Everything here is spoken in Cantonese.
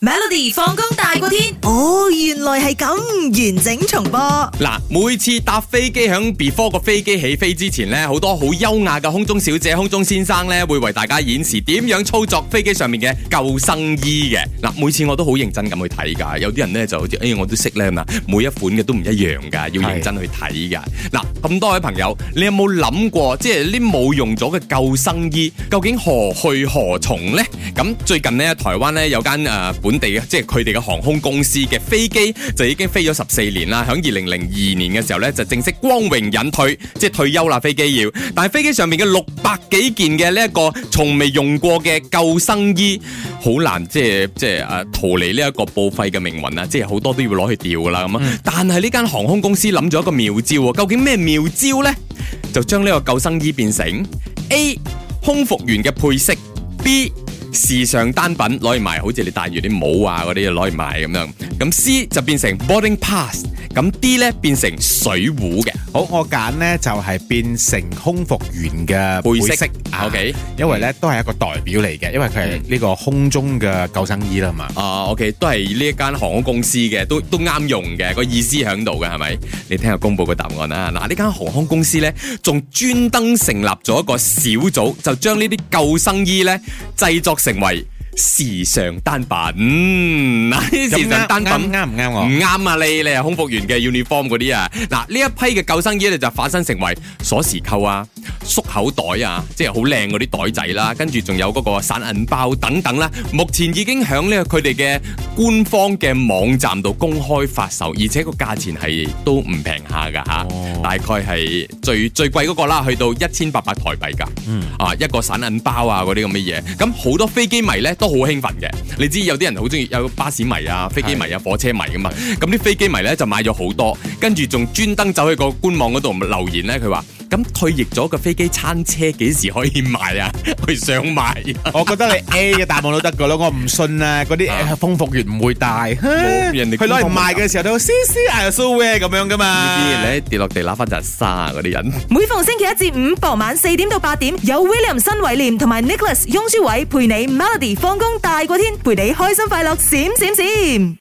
Melody 放工大過天， 哦，原來係咁，完整重播。 嗱，每次搭飛機響 before 個飛機起飛之前呢，好多好優雅嘅空中小姐、空中先生呢，會為大家演示點樣操作飛機上面嘅救生衣嘅。嗱，每次我都好認真咁去睇噶，有啲人呢就好似我都識咧嘛，每一款嘅都唔一樣噶，要認真去睇噶。嗱，咁多位朋友，你有冇諗過，即係呢冇用咗嘅救生衣，究竟何去何從呢？咁最近呢，台灣呢有間本地嘅，即係佢哋嘅航空公司嘅飛機就已經飛咗14年啦。響2002年嘅時候呢，就正式光榮隱退，即係退休啦。飛機要，但係飛機上面嘅600幾件嘅呢一個從未用過嘅救生衣，好難即係逃離呢一個報廢嘅命運啊！即係好多都要攞去掉噶啦咁啊。但係呢間航空公司諗咗一個妙招喎，究竟咩妙招呢？就將呢個救生衣變成 A 空服員嘅配飾， B 時尚單品攞嚟賣，好似你戴住啲帽啊嗰啲攞嚟賣咁樣。咁 C 就變成 boarding pass， 咁 D 咧變成水壺嘅。 好，我揀呢就係變成空服員嘅背飾。 OK， 因為咧都係一個代表嚟嘅，因為佢係呢個空中嘅救生衣啦嘛。 OK， 都係呢一間航空公司嘅，都啱用嘅，個意思喺度嘅係咪？你聽下公布個答案啦。嗱，呢間航空公司咧仲專登成立咗一個小組，就將呢啲救生衣咧製作成為時尚單品。嗱，啲時尚單品啱唔啱我？ 唔啱啊！你係空服員嘅 uniform 嗰啲啊。嗱，呢一批嘅救生衣咧就化身成為鎖匙扣啊、縮口袋啊，即係好靚嗰啲袋仔啦，跟住仲有嗰個散銀包等等啦。目前已經響呢個佢哋嘅官方嘅網站度公開發售，而且個價錢係都唔平下噶吓，大概係最貴嗰個啦，去到1800台幣噶。一個散銀包啊嗰啲咁嘅嘢，咁好多飛機迷咧都好興奮嘅。你知有啲人好中意有巴士迷啊、飛機迷啊、火車迷噶嘛，咁啲飛機迷咧就買咗好多，跟住仲專登走去個官網嗰度留言咧，佢話咁退役咗個飛機餐車幾時可以賣啊？佢想賣。 我覺得你 A 嘅答案都得噶咯，我唔信啊，嗰啲空服員唔會帶。 人哋佢攞嚟賣嘅時候都 I so wear 咁樣噶嘛。 呢啲人跌落地揦翻陣沙啊！嗰啲人。 每逢星期一至五傍晚4點到8點，有 William 新偉廉同埋 Nicholas 雍舒偉陪你 Melody 放工大過天，陪你開心快樂閃閃閃。